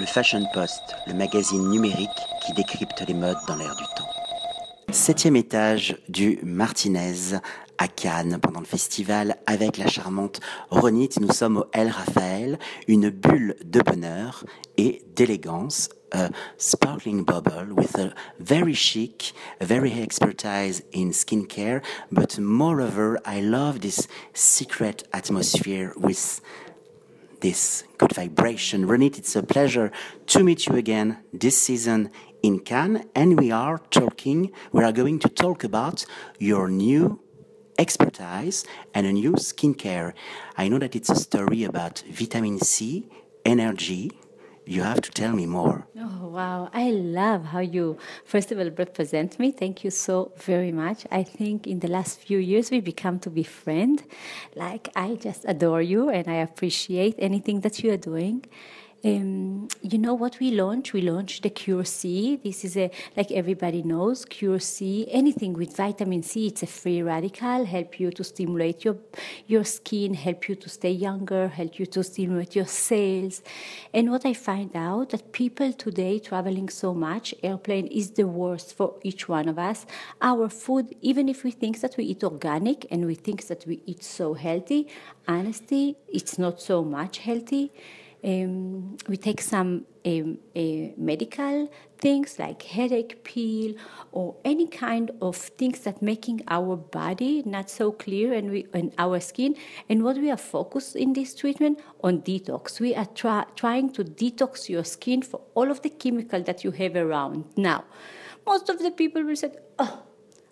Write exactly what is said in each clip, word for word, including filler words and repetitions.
Le Fashion Post, le magazine numérique qui décrypte les modes dans l'air du temps. Septième étage du Martinez à Cannes pendant le festival avec la charmante Ronit. Nous sommes au El Rafael, une bulle de bonheur et d'élégance. A sparkling bubble with a very chic, very expertise in skincare, but moreover, I love this secret atmosphere with this good vibration. Ronit, it's a pleasure to meet you again this season in Cannes, and we are talking, we are going to talk about your new expertise and a new skincare. I know that it's a story about vitamin C, energy. You have to tell me more. Oh, wow. I love how you, first of all, represent me. Thank you so very much. I think in the last few years, we become to be friends. Like, I just adore you and I appreciate anything that you are doing. Um, you know what we launched? We launched the Cure C. This is a, like everybody knows, Cure C, anything with vitamin C, it's a free radical, help you to stimulate your, your skin, help you to stay younger, help you to stimulate your cells. And what I find out, that people today traveling so much, airplane is the worst for each one of us. Our food, even if we think that we eat organic and we think that we eat so healthy, honestly, it's not so much healthy. Um, we take some um, uh, medical things like headache pill or any kind of things that making our body not so clear and we and our skin. And what we are focused in this treatment on detox. We are try, trying to detox your skin for all of the chemical that you have around. Now, most of the people will say, oh,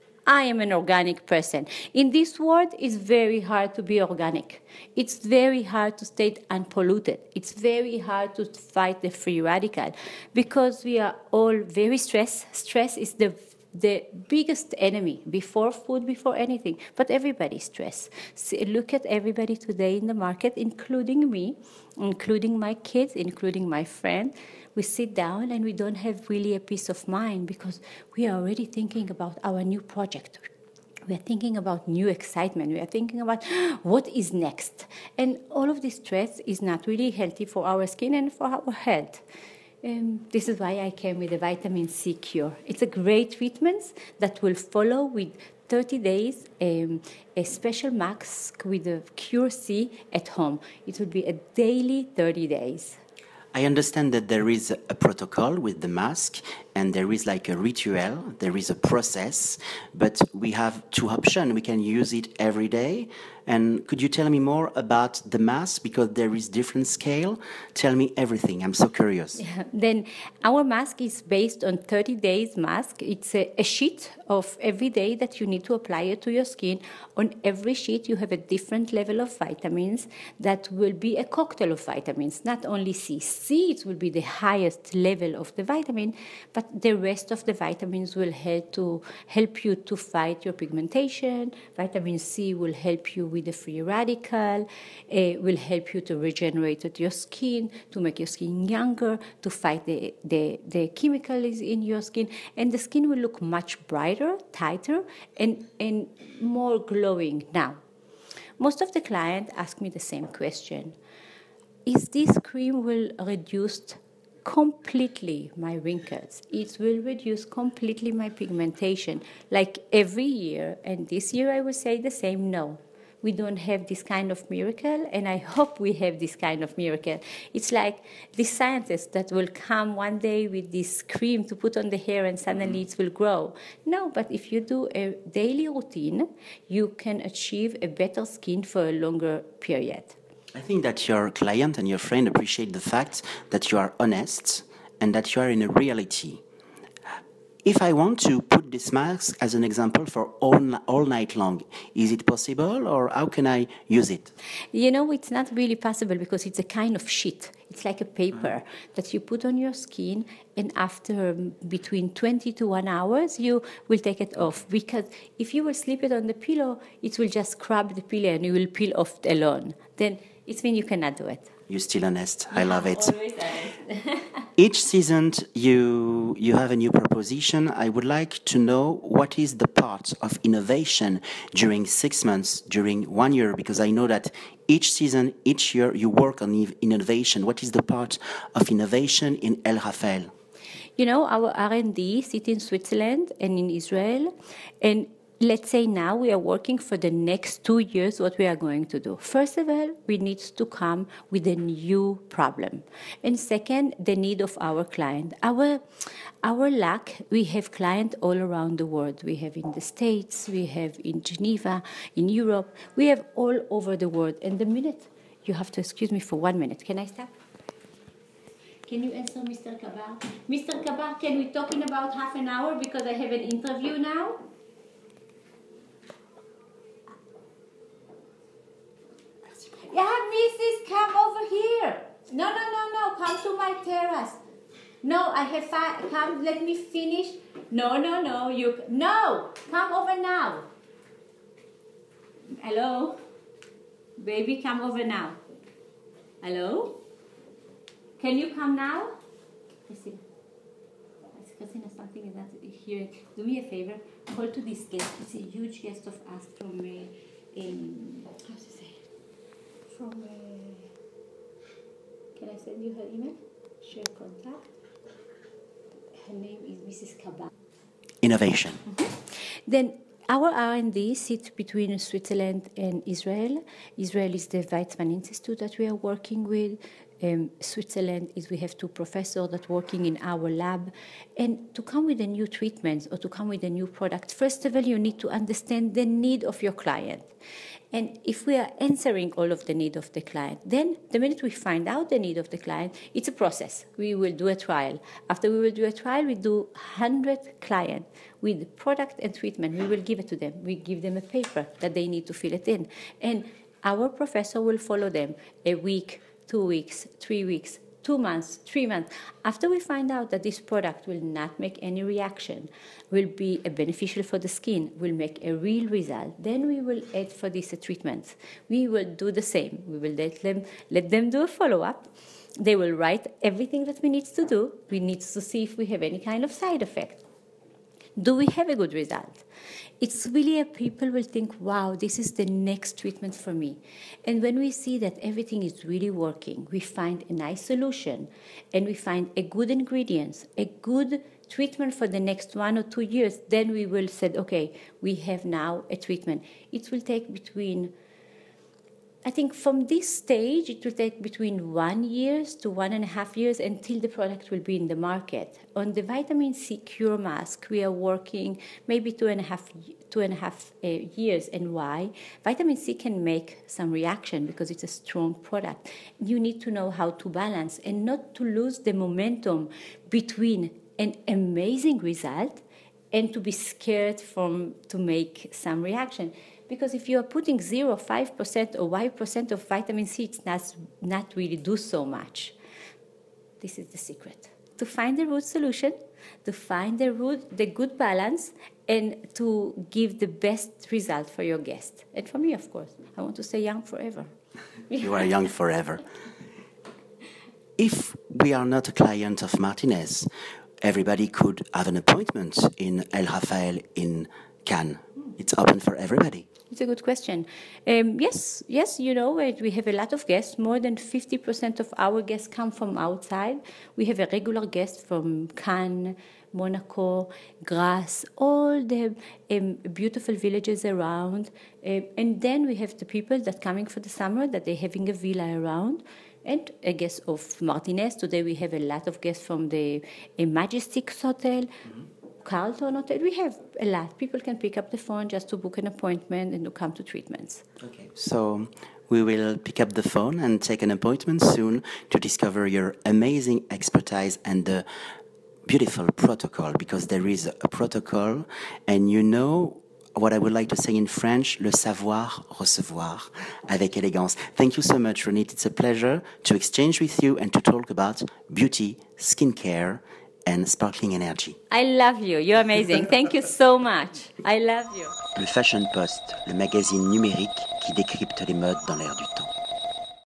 I am an organic person. In this world, it's very hard to be organic. It's very hard to stay unpolluted. It's very hard to fight the free radical because we are all very stressed. Stress is the the biggest enemy before food, before anything. But everybody's stressed. See, look at everybody today in the market, including me, including my kids, including my friend. We sit down and we don't have really a peace of mind because we are already thinking about our new project. We are thinking about new excitement. We are thinking about what is next. And all of this stress is not really healthy for our skin and for our health. Um, this is why I came with the vitamin C cure. It's a great treatment that will follow with thirty days, um, a special mask with the Cure C at home. It will be a daily thirty days. I understand that there is a protocol with the mask and there is like a ritual, there is a process, but we have two options. We can use it every day. And could you tell me more about the mask? Because there is different scale. Tell me everything. I'm so curious. Yeah. Then our mask is based on thirty days mask. It's a, a sheet of every day that you need to apply it to your skin. On every sheet, you have a different level of vitamins that will be a cocktail of vitamins, not only C. C, it will be the highest level of the vitamin, but the rest of the vitamins will help to help you to fight your pigmentation. Vitamin C will help you with the free radical, uh, will help you to regenerate your skin, to make your skin younger, to fight the, the, the chemicals in your skin, and the skin will look much brighter, tighter, and, and more glowing. Now, most of the clients ask me the same question. Is this cream will reduce completely my wrinkles? It will reduce completely my pigmentation, like every year. And this year I will say the same, no. We don't have this kind of miracle, and I hope we have this kind of miracle. It's like the scientists that will come one day with this cream to put on the hair and suddenly it will grow. No, but if you do a daily routine, you can achieve a better skin for a longer period. I think that your client and your friend appreciate the fact that you are honest and that you are in a reality. If I want to put this mask as an example for all, all night long, is it possible or how can I use it? You know, it's not really possible because it's a kind of sheet. It's like a paper mm-hmm. that you put on your skin, and after between twenty to one hours, you will take it off. Because if you will slip it on the pillow, it will just scrub the pillow and you will peel off alone. Then it means you cannot do it. You're still honest. I Yeah, love it. Always honest. Each season, you you have a new proposition. I would like to know what is the part of innovation during six months, during one year, because I know that each season, each year, you work on ev- innovation. What is the part of innovation in El Rafael? You know, our R and D sit in Switzerland and in Israel, and let's say now we are working for the next two years what we are going to do. First of all, we need to come with a new problem. And second, the need of our client. Our, our luck, we have clients all around the world. We have in the States, we have in Geneva, in Europe. We have all over the world. And the minute, you have to excuse me for one minute. Can I stop? Can you answer Mister Kabar? Mister Kabar, can we talk in about half an hour because I have an interview now? Yeah, Missus come over here. No, no, no, no, come to my terrace. No, I have fi- come. Let me finish. No, no, no, you no. Come over now. Hello, baby, come over now. Hello, can you come now? Listen, Christina, something is not here. Do me a favor. Call to this guest. It's a huge guest of us from uh, in. How to say? From, uh, can I send you her email? Share contact. Her name is Missus Kabar. Innovation. Mm-hmm. Then our R and D sits between Switzerland and Israel. Israel is the Weizmann Institute that we are working with. Um, Switzerland is we have two professors that are working in our lab. And to come with a new treatment or to come with a new product, first of all, you need to understand the need of your client. And if we are answering all of the need of the client, then the minute we find out the need of the client, it's a process. We will do a trial. After we will do a trial, we do one hundred clients with product and treatment. We will give it to them. We give them a paper that they need to fill it in. And our professor will follow them a week, two weeks, three weeks, two months, three months. After we find out that this product will not make any reaction, will be a beneficial for the skin, will make a real result, then we will add for this a treatment. We will do the same. We will let them, let them do a follow-up. They will write everything that we need to do. We need to see if we have any kind of side effect. Do we have a good result? It's really a people will think, wow, this is the next treatment for me. And when we see that everything is really working, we find a nice solution and we find a good ingredients, a good treatment for the next one or two years, then we will say, okay, we have now a treatment. It will take between I think from this stage, it will take between one years to one and a half years until the product will be in the market. On the vitamin C cure mask, we are working maybe two and a half, two and a half uh, years. And why? Vitamin C can make some reaction because it's a strong product. You need to know how to balance and not to lose the momentum between an amazing result and to be scared from to make some reaction. Because if you are putting zero, five percent or Y percent of vitamin C, it's not, not really do so much. This is the secret. To find the root solution, to find the root, the good balance, and to give the best result for your guest. And for me, of course. I want to stay young forever. You are young forever. If we are not a client of Martinez, everybody could have an appointment in El Rafael in Cannes. It's open for everybody. It's a good question. Um, yes, yes, you know, we have a lot of guests. More than fifty percent of our guests come from outside. We have a regular guest from Cannes, Monaco, Grasse, all the um, beautiful villages around. Um, and then we have the people that coming for the summer, that they're having a villa around. And a guest of Martinez. Today we have a lot of guests from the uh, Majestic Hotel. Mm-hmm. Carlton Hotel, we have a lot. People can pick up the phone just to book an appointment and to come to treatments. Okay. So we will pick up the phone and take an appointment soon to discover your amazing expertise and the beautiful protocol, because there is a protocol, and you know what I would like to say in French, le savoir recevoir avec élégance. Thank you so much, Ronit. It's a pleasure to exchange with you and to talk about beauty, skincare, and sparkling energy. I love you. You're amazing. Thank you so much. I love you. Le Fashion Post, le magazine numérique qui décrypte les modes dans l'air du temps.